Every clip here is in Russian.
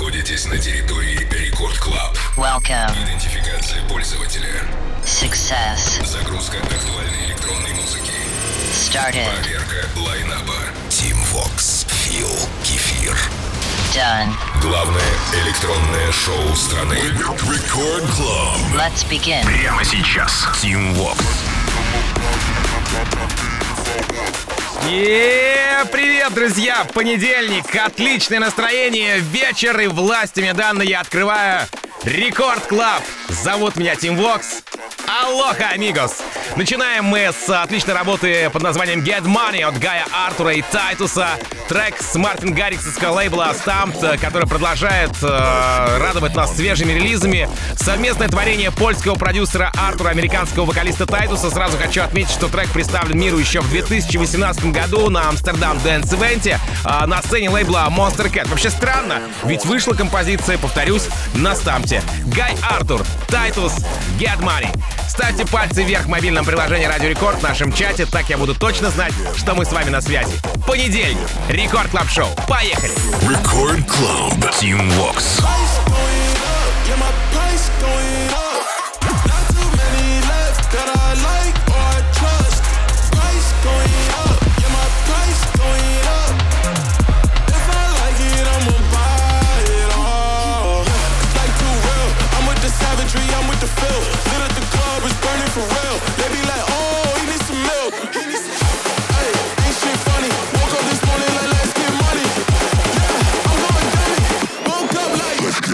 находитесь на территории Рекорд Клаб. Welcome. Идентификация пользователя. Success. Загрузка актуальной электронной музыки. Started. Проверка лайнаба. Team Vox. Фил Кефир. Done. Главное электронное шоу страны. Рекорд Клаб. Let's begin. Прямо сейчас. Team Vox. Привет, друзья! Понедельник, отличное настроение, вечер, и властями данные я открываю Рекорд Клаб. Зовут меня Тим Вокс. Алоха, амигос! Начинаем мы с отличной работы под названием Get Money от Гая Артура и Тайтуса. Трек с Мартин Гарриксовского лейбла Stamped, который продолжает радовать нас свежими релизами. Совместное творение польского продюсера Артура, американского вокалиста Тайтуса. Сразу хочу отметить, что трек представлен миру еще в 2018 году на Амстердам Dance Event на сцене лейбла Monster Cat. Вообще странно, ведь вышла композиция, повторюсь, на Стампте. Гай Артур, Тайтус, Get Money. Ставьте пальцы вверх в мобильном приложении Радио Рекорд в нашем чате, так я буду точно знать, что мы с вами на связи. Понедельник. Рекорд Клаб Шоу. Поехали! Рекорд Клаб. Team Vox. Let's get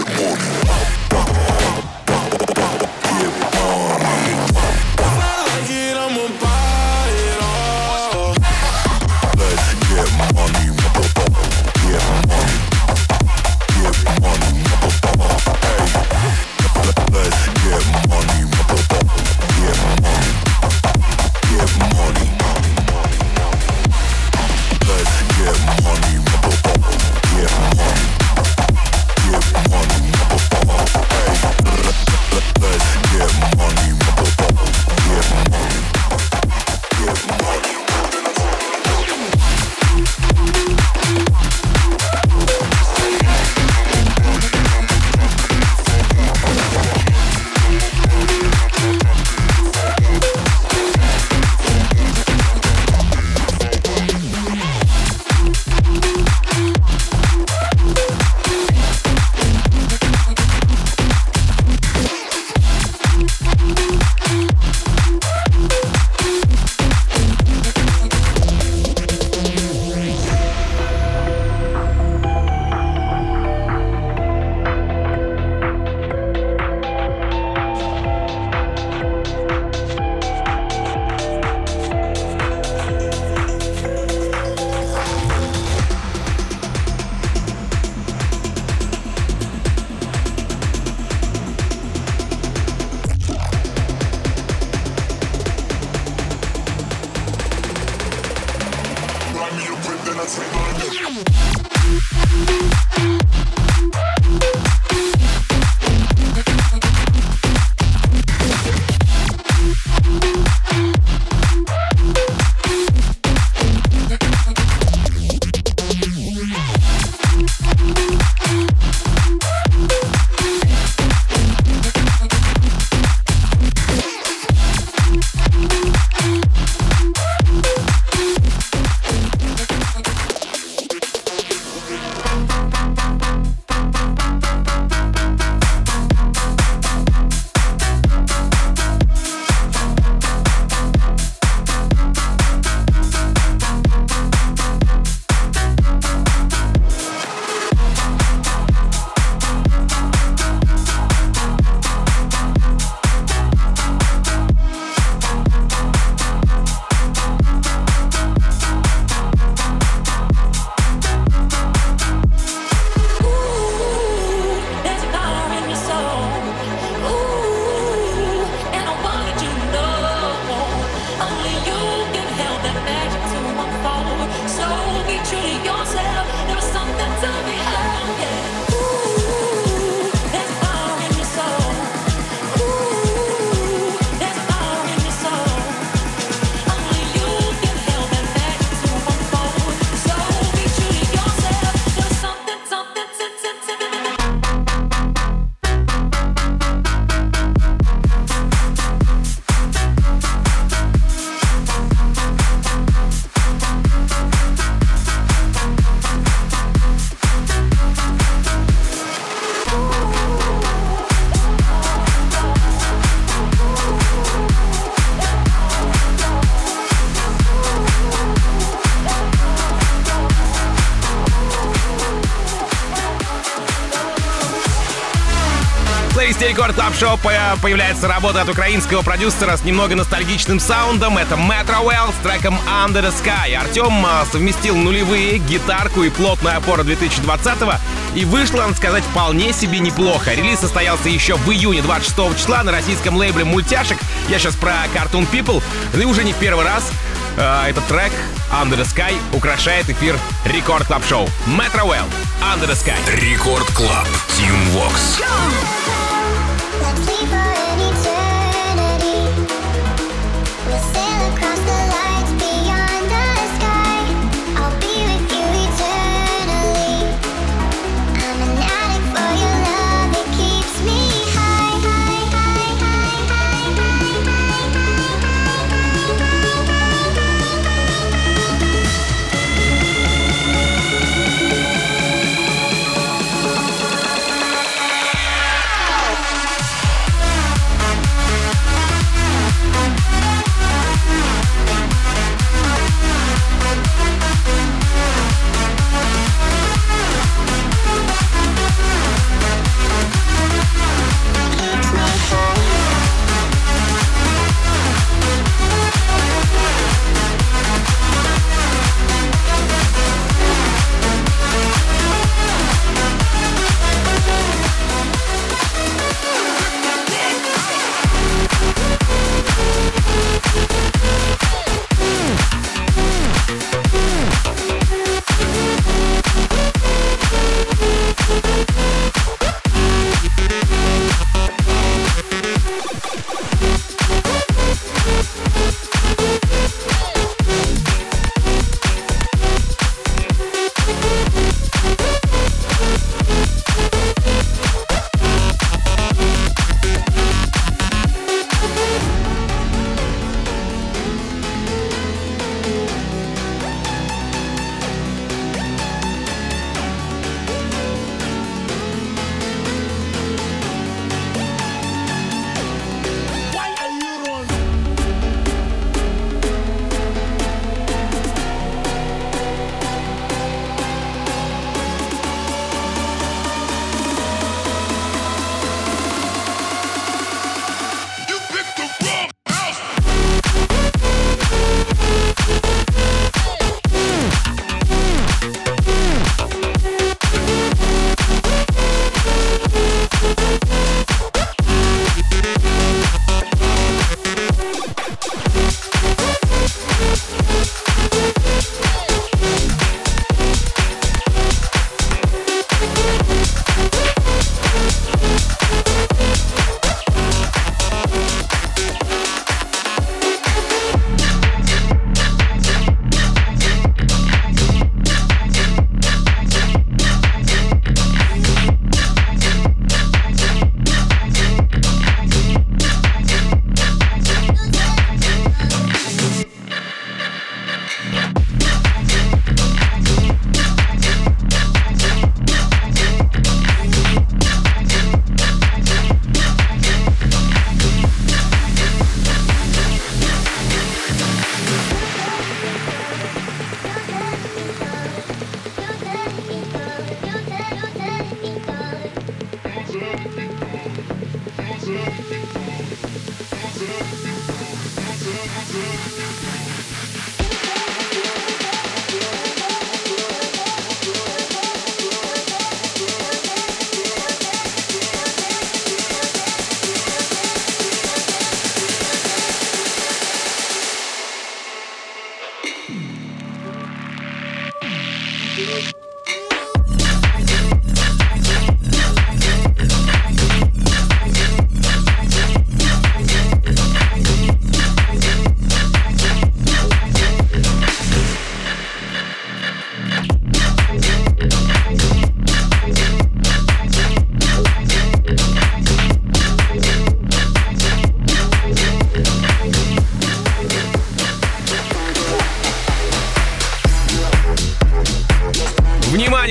плейлисте Рекорд Клаб Шоу появляется работа от украинского продюсера с немного ностальгичным саундом. Это Metro Well с треком Under the Sky. Артем совместил нулевые, гитарку и плотную опору 2020-го. И вышло, надо сказать, вполне себе неплохо. Релиз состоялся еще в июне 26 числа на российском лейбле «Мультяшек». Я сейчас про Cartoon People. И уже не в первый раз этот трек Under the Sky украшает эфир Рекорд Клаб Шоу. Metro Well, Under the Sky. Рекорд Клаб, Team Vox.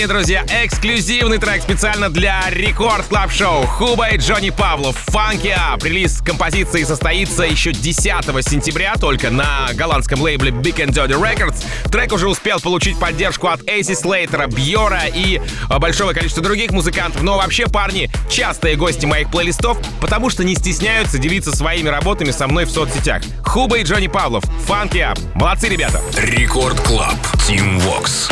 друзья, эксклюзивный трек специально для Рекорд Клаб Шоу. Хуба и Джонни Павлов, Funky Up. Релиз композиции состоится еще 10 сентября только на голландском лейбле Big and Dirty Records. Трек уже успел получить поддержку от Эйси Слейтера, Бьора и большого количества других музыкантов. Но вообще парни частые гости моих плейлистов, потому что не стесняются делиться своими работами со мной в соцсетях. Хуба и Джонни Павлов, Funky Up. Молодцы, ребята. Рекорд Клаб, Team Vox.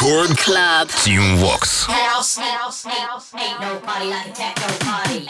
Record Club. Team Vox. Ain't no party like a techno party.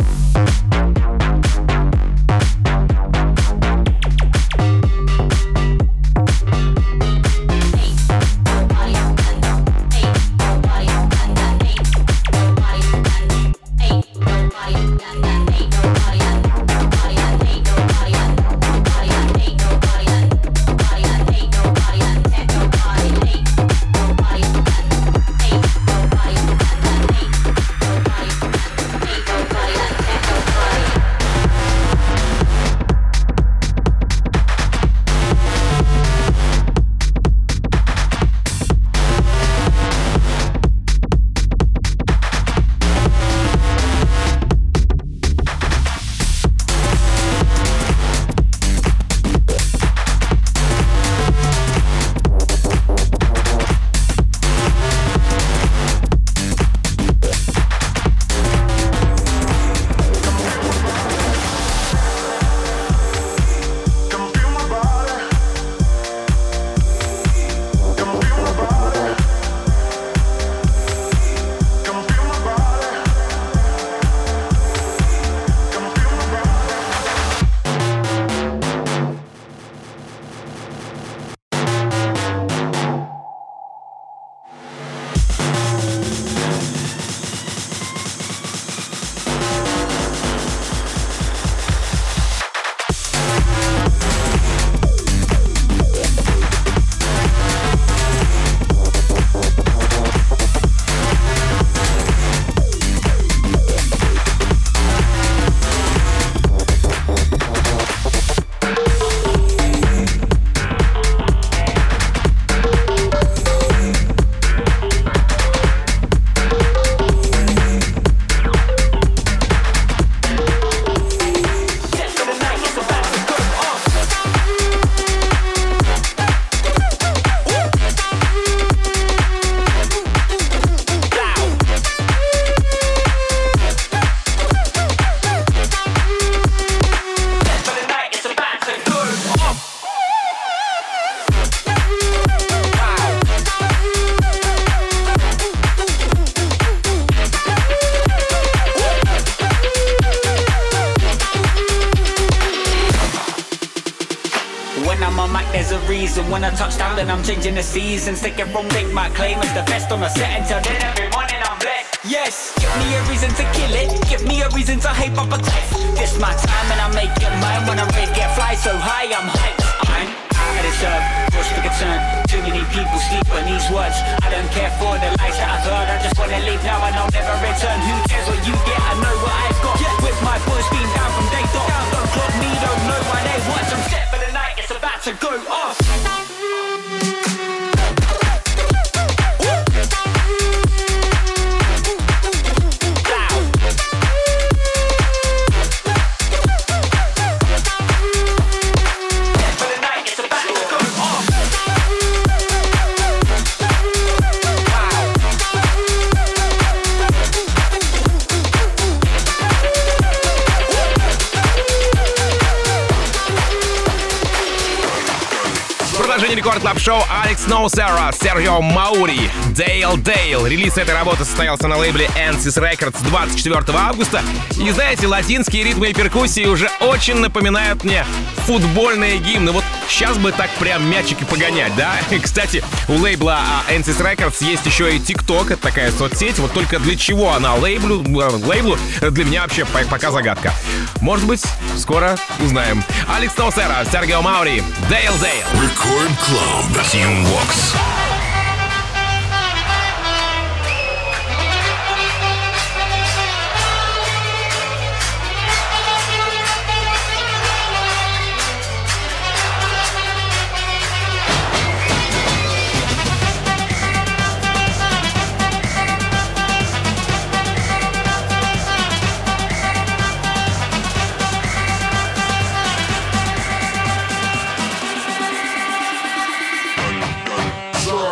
When I touch down, then I'm changing the seasons. Take it from make my claim as the best on the set. Until then, every morning I'm blessed. Yes, give me a reason to kill it. Give me a reason to hype up a cliff. This my time and I make it mine. When I rave, get fly so high, I'm hyped. I'm out of this earth, what's the concern? Too many people sleep on these words. I don't care for the lies that I've heard. I just wanna leave now and I'll never return. Who cares what you get? I know what I've got. With my boys being down from day dot. Don't clock me, don't know why they watch. I'm set for the night, it's about to go off. Рекорд Клаб Шоу Алекс Ноусера, Серхио Маури, Дейл Дейл. Релиз этой работы состоялся на лейбле Ansys Records 24 августа. И знаете, латинские ритмы и перкуссии уже очень напоминают мне футбольные гимны. Вот сейчас бы так прям мячики погонять, да? И, кстати, у лейбла Ansys Records есть еще и TikTok, это такая соцсеть. Вот только для чего она лейблу для меня вообще пока загадка. Может быть, скоро узнаем. Алекс Ноусера, Серхио Маури, Дейл Дейл. Record Club Team Vox. Slow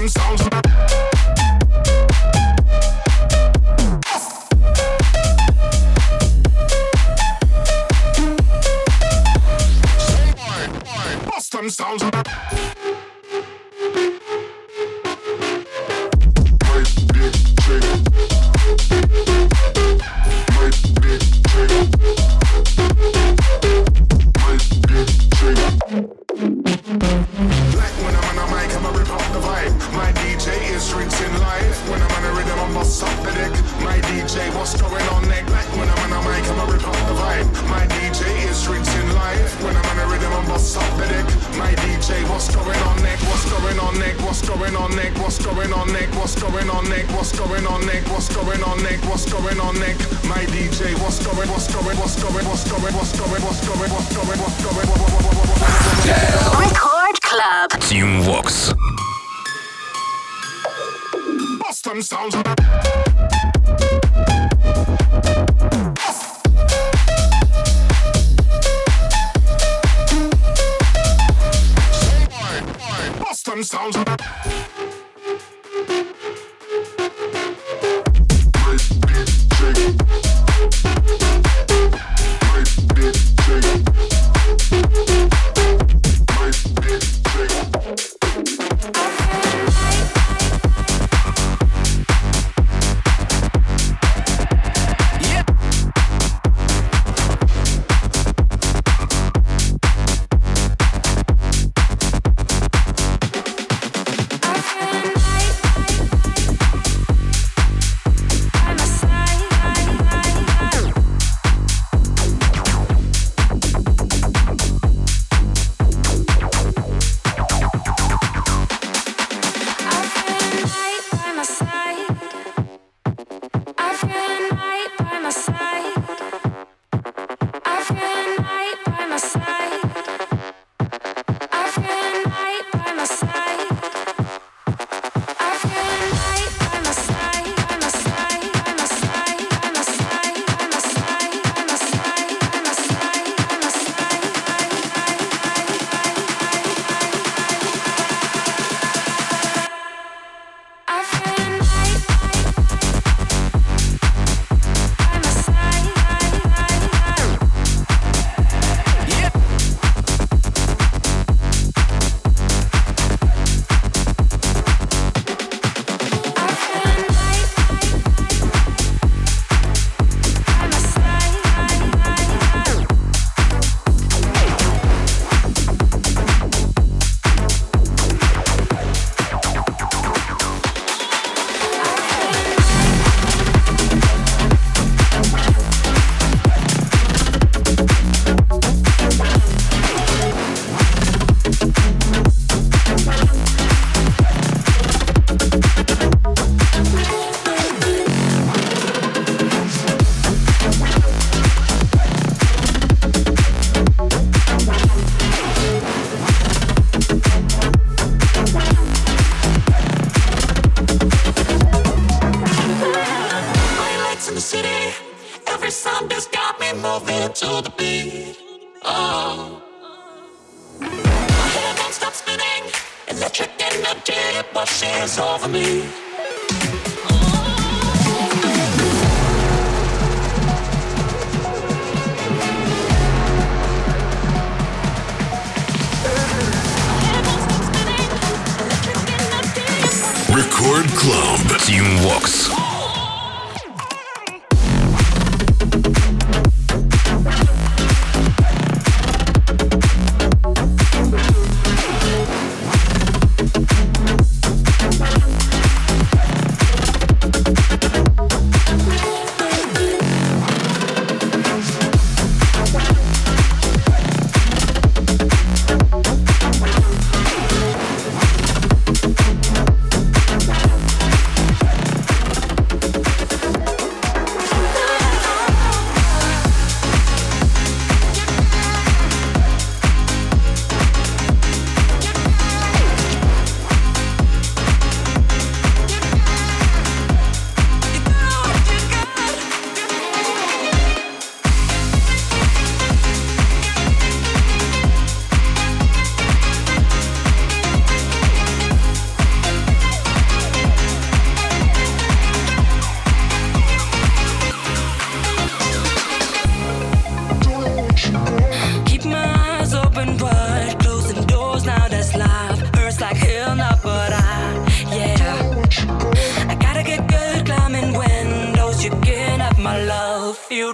Boston sounds. Boston sounds. Record Club. Team Vox. Boston sounds. Boston sounds. Record Club. Team Vox.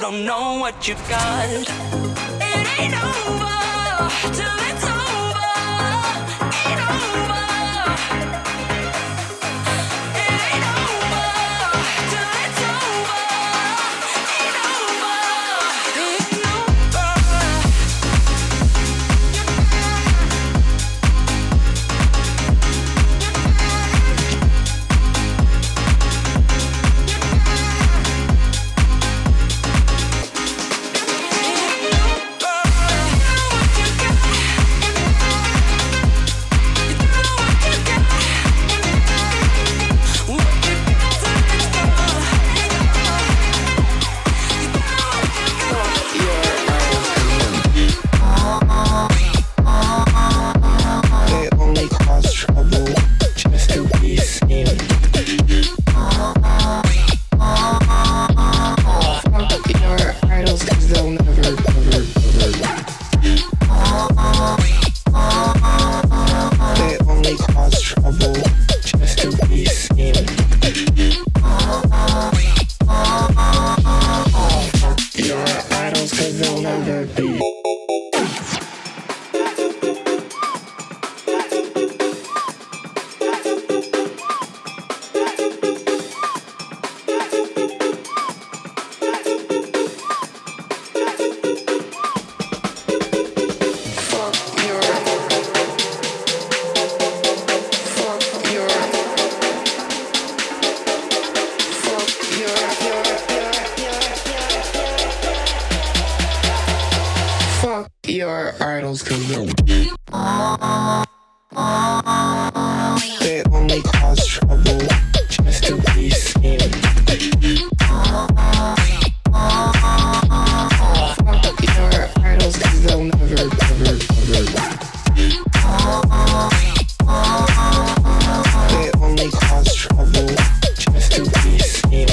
don't know what you've got. It ain't over till it's over. Ain't over. It ain't over till it's over. Ain't over. Ain't over. Your idols, 'cause they only cause trouble just to be seen. Fuck your idols, 'cause they'll never, ever, ever. They only cause trouble just to be seen.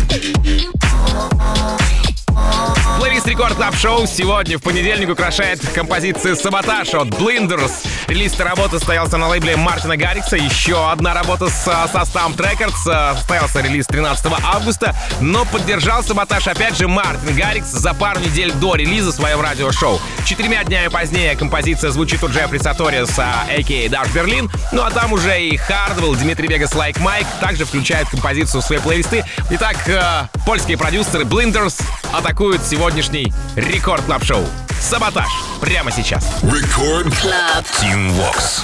Плейлист Рекорд Клаб Шоу сегодня в понедельник украшает композиция «Саботаж» от Blinders. Релиз этой работы состоялся на лейбле Мартина Гаррикса. Еще одна работа со Stamp Records. Состоялся релиз 13 августа. Но поддержал «Саботаж» опять же Мартин Гаррикс за пару недель до релиза в своем радиошоу. 4 днями позднее композиция звучит у Джеффри Саторис, а.к.а. Даш Берлин. Ну а там уже и Hardwell, Дмитрий Вегас, Like Mike также включают композицию в свои плейлисты. Итак, польские продюсеры Blinders атакуют сегодняшний Рекорд Клаб Шоу. «Саботаж» прямо сейчас. Record Club Team Vox.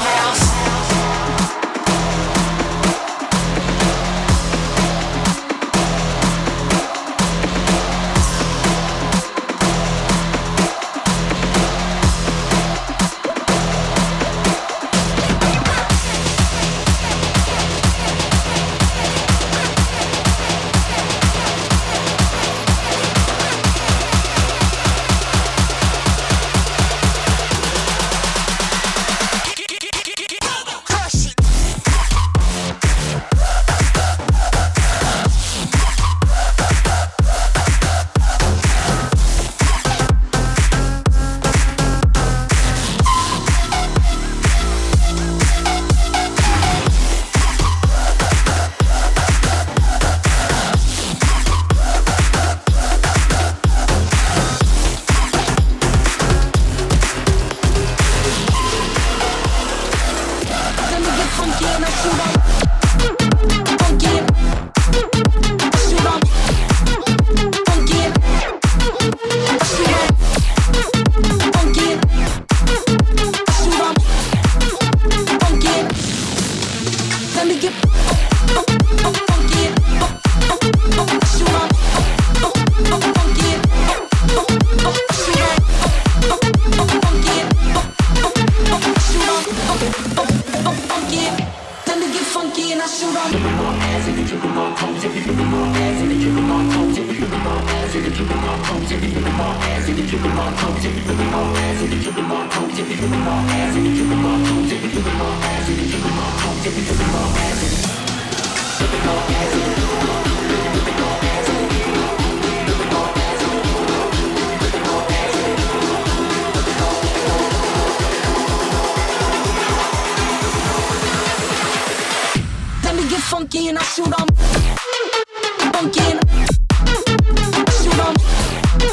Funky and I shoot 'em. Funky and I shoot 'em.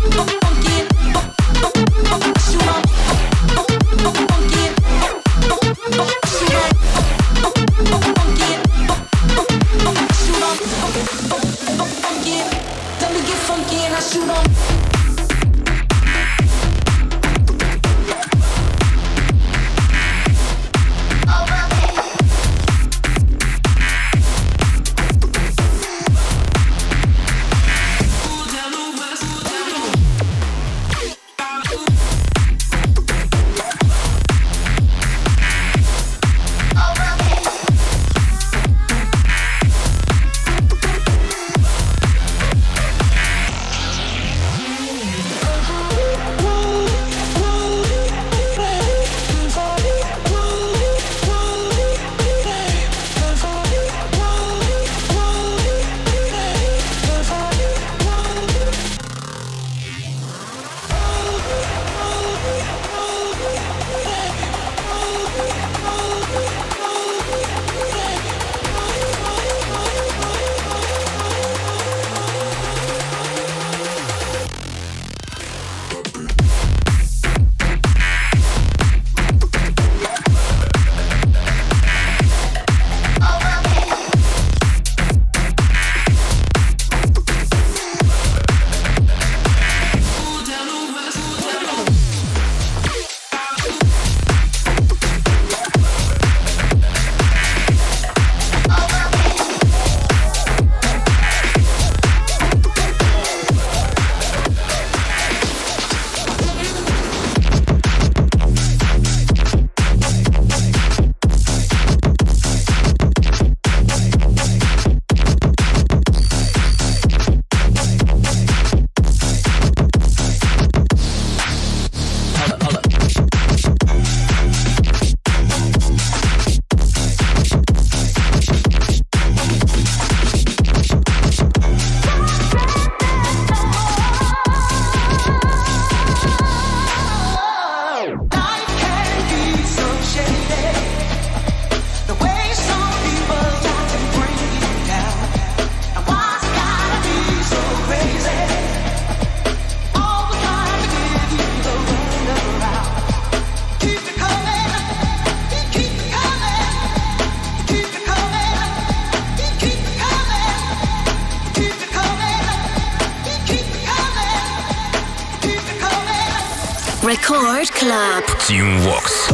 Record Club. Team Vox.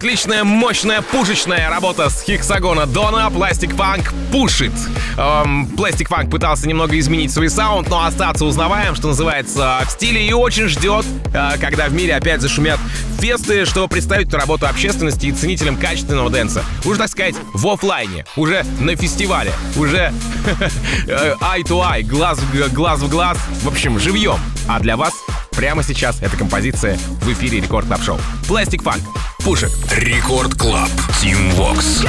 Отличная, мощная, пушечная работа с Hexagona Donna. Plastic Funk пушит. Plastic Funk пытался немного изменить свой саунд, но остаться узнаваем, что называется, в стиле, и очень ждет, когда в мире опять зашумят фесты, чтобы представить эту работу общественности и ценителям качественного дэнса. Уже, так сказать, в офлайне, уже на фестивале, уже eye to eye, глаз в глаз, в общем, живьем. А для вас прямо сейчас эта композиция в эфире Рекорд Клаб Шоу. Plastic Funk пушит. Рекорд Клаб. Team Vox.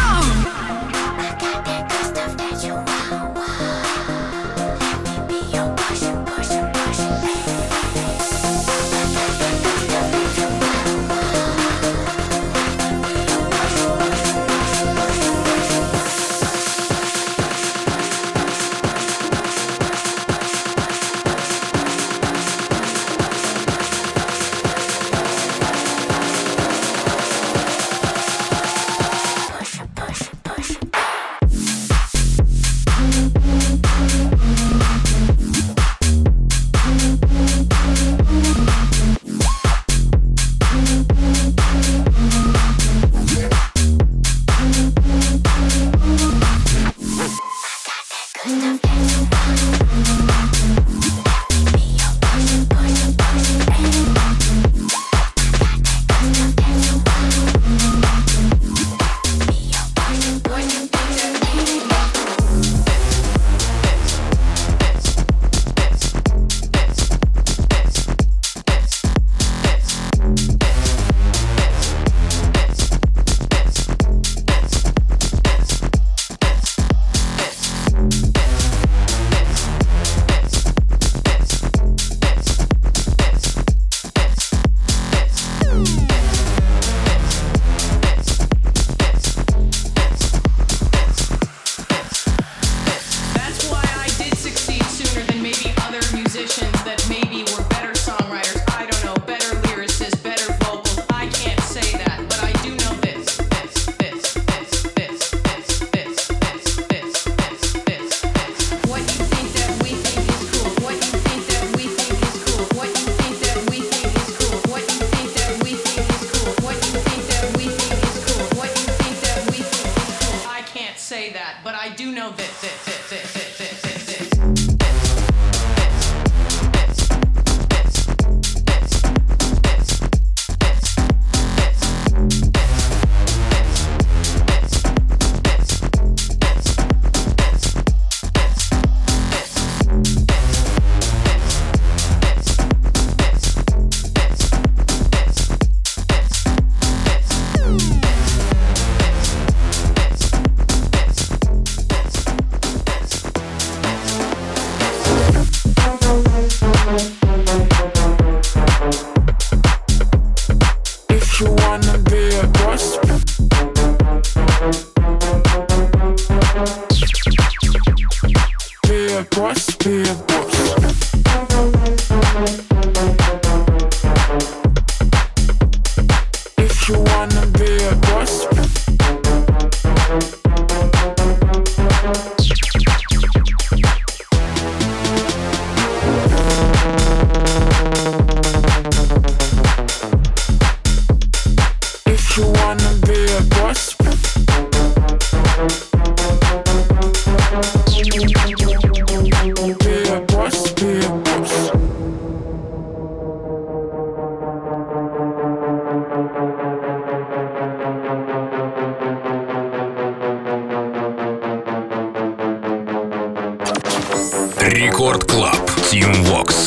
Рекорд Клаб. Team Vox.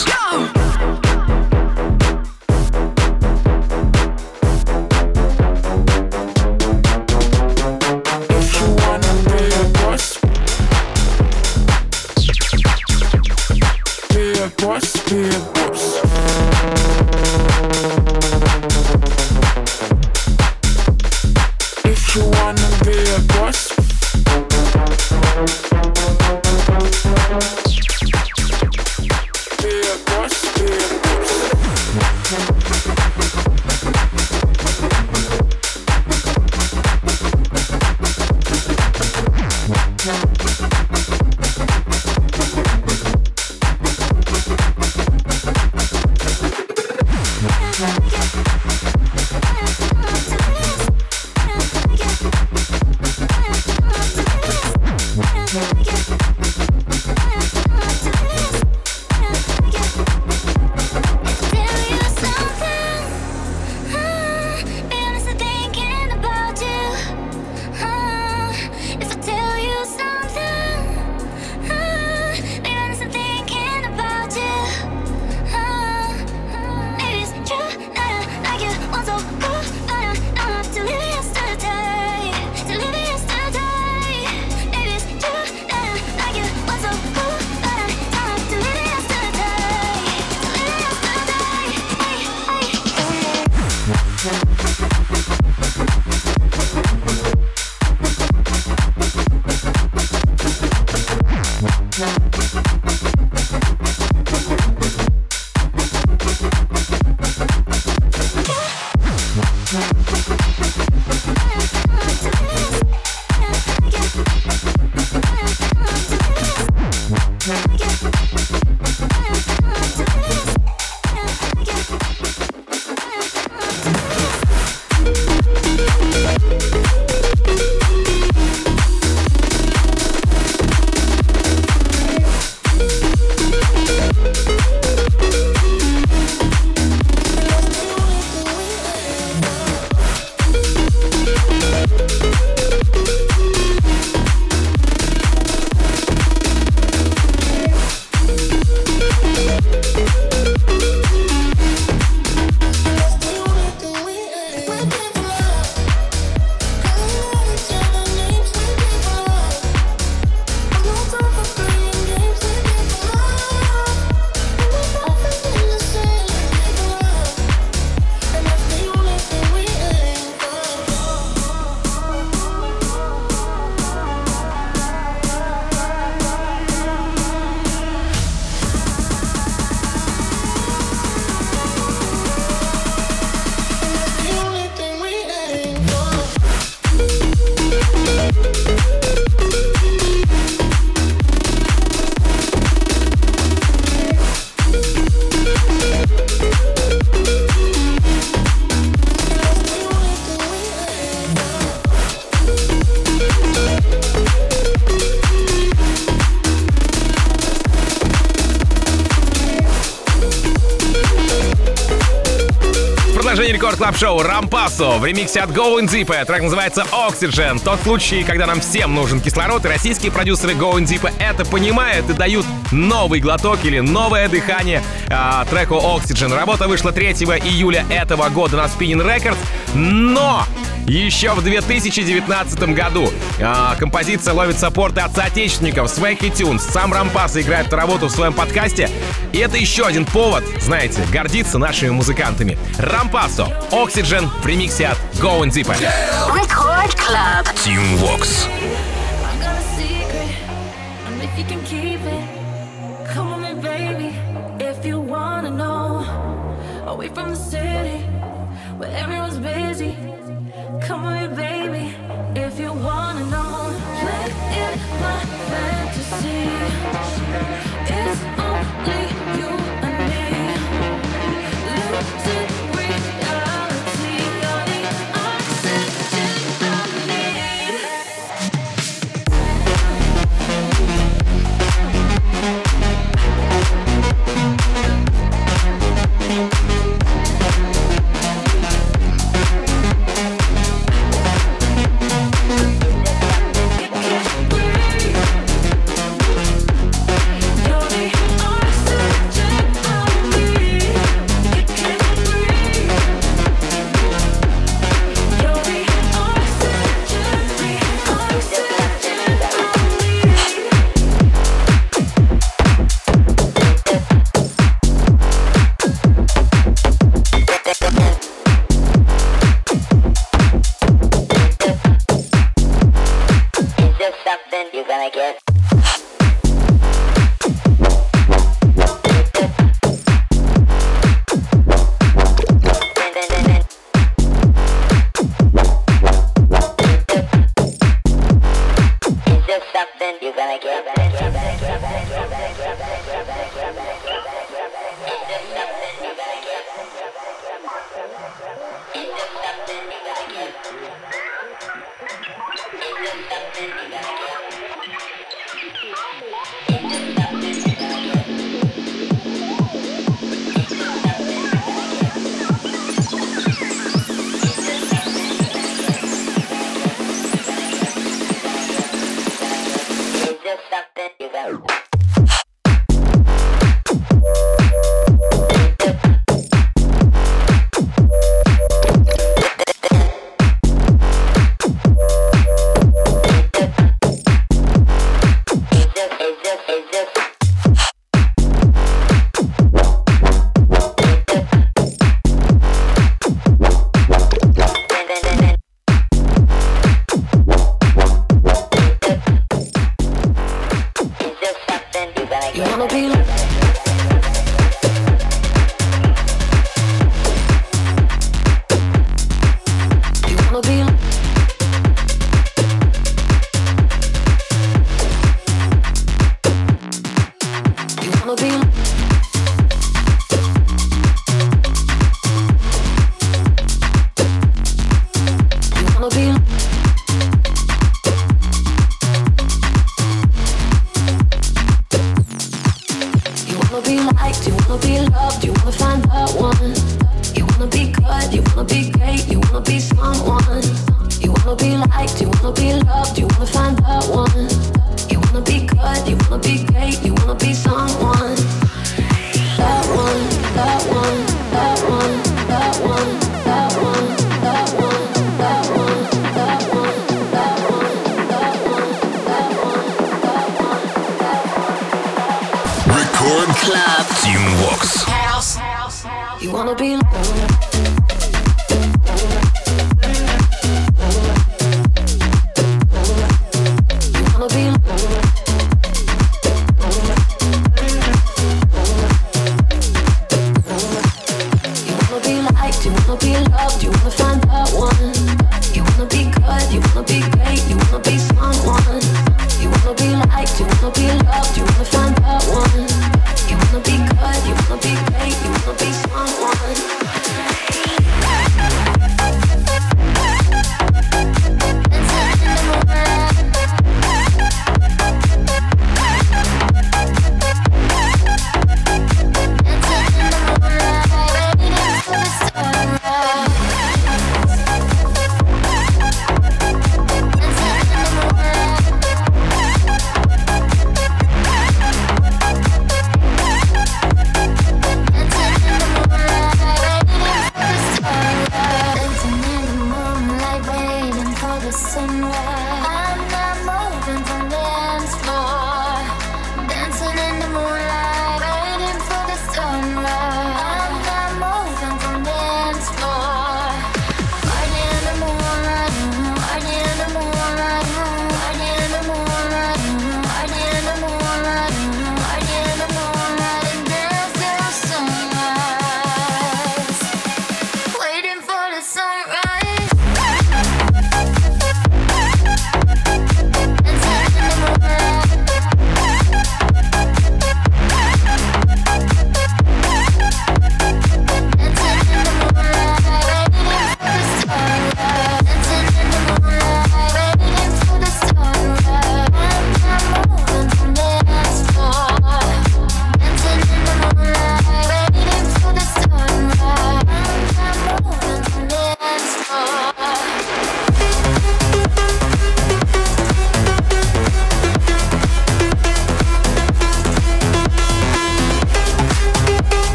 Рекорд Клаб Шоу Рампасо в ремиксе от Going Deep. Трек называется Oxygen. Тот случай, когда нам всем нужен кислород, и российские продюсеры Going Deep это понимают и дают новый глоток или новое дыхание треку Oxygen. Работа вышла 3 июля этого года на Spinnin' Records, но еще в 2019 году композиция ловит саппорты от соотечественников Swaggy Tunes. Сам Рампасо играет эту работу в своем подкасте. И это еще один повод, знаете, гордиться нашими музыкантами. Рампасо, Oxygen в ремиксе от Going Deep. Record Club. Team Vox. I got a secret, and if you can keep it, come on me, baby. If you wanna know, away from the city, where everyone's busy. Come on me, baby. If you wanna know, play in my fantasy. It's only you and me. Lucid reality, you're the oxygen I need.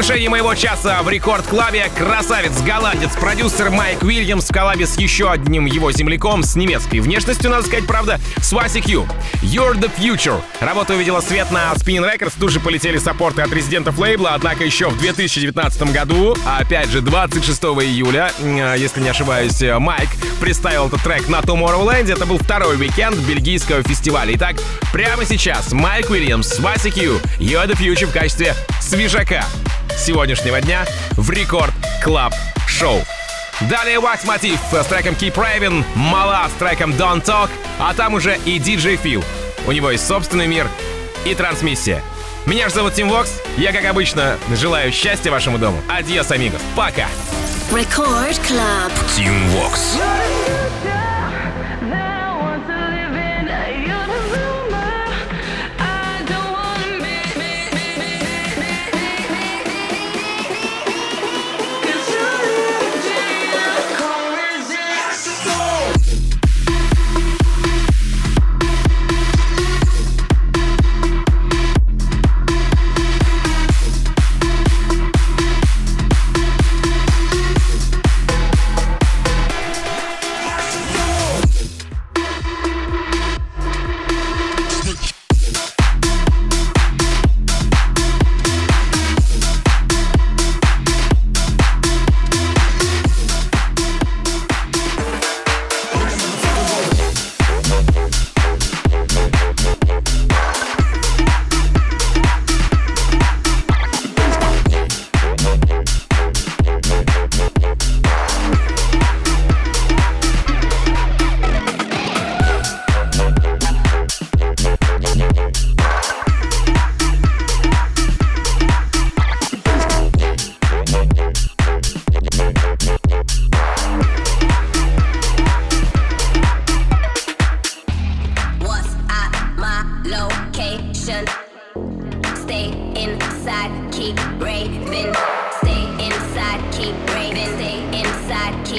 завершении моего часа в рекорд-клабе красавец-голландец, продюсер Майк Уильямс в коллабе с еще одним его земляком с немецкой внешностью, надо сказать, правда, Сваси Кью. You're the Future. Работа увидела свет на Spinning Records, тут же полетели саппорты от резидентов лейбла, однако еще в 2019 году, опять же 26 июля, если не ошибаюсь, Майк представил этот трек на Tomorrowland. Это был второй уикенд бельгийского фестиваля. Итак, прямо сейчас Майк Уильямс, Сваси Кью, You're the Future в качестве свежака сегодняшнего дня в Рекорд Клаб Шоу. Далее Wax Motif с треком Keep Raving, Мала с треком Don't Talk, а там уже и DJ Phil. У него есть собственный мир и трансмиссия. Меня же зовут Тим Вокс. Я, как обычно, желаю счастья вашему дому. Адьос, амигос. Пока. Record Club. Тим Вокс.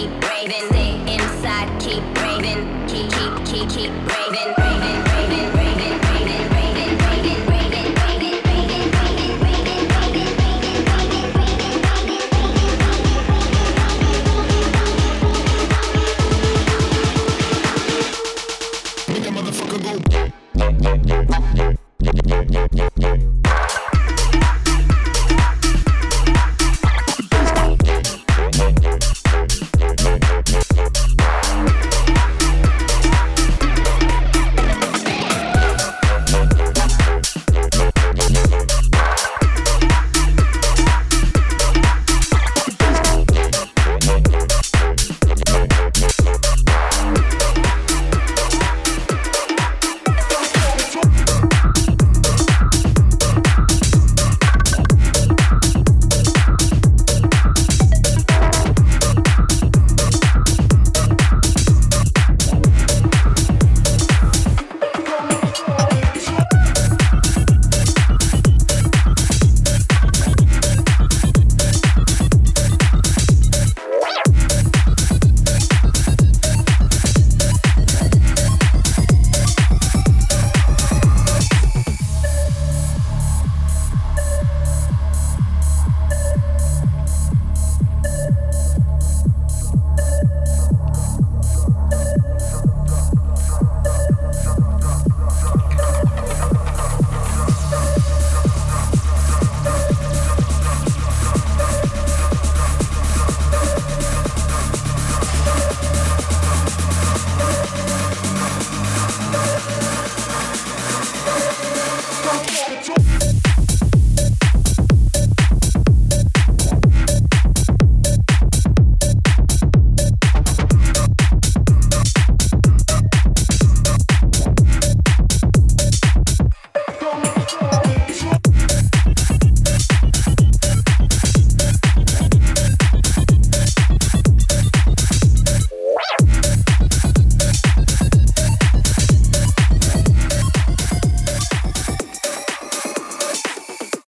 Keep raving, keep raving, raving, raving.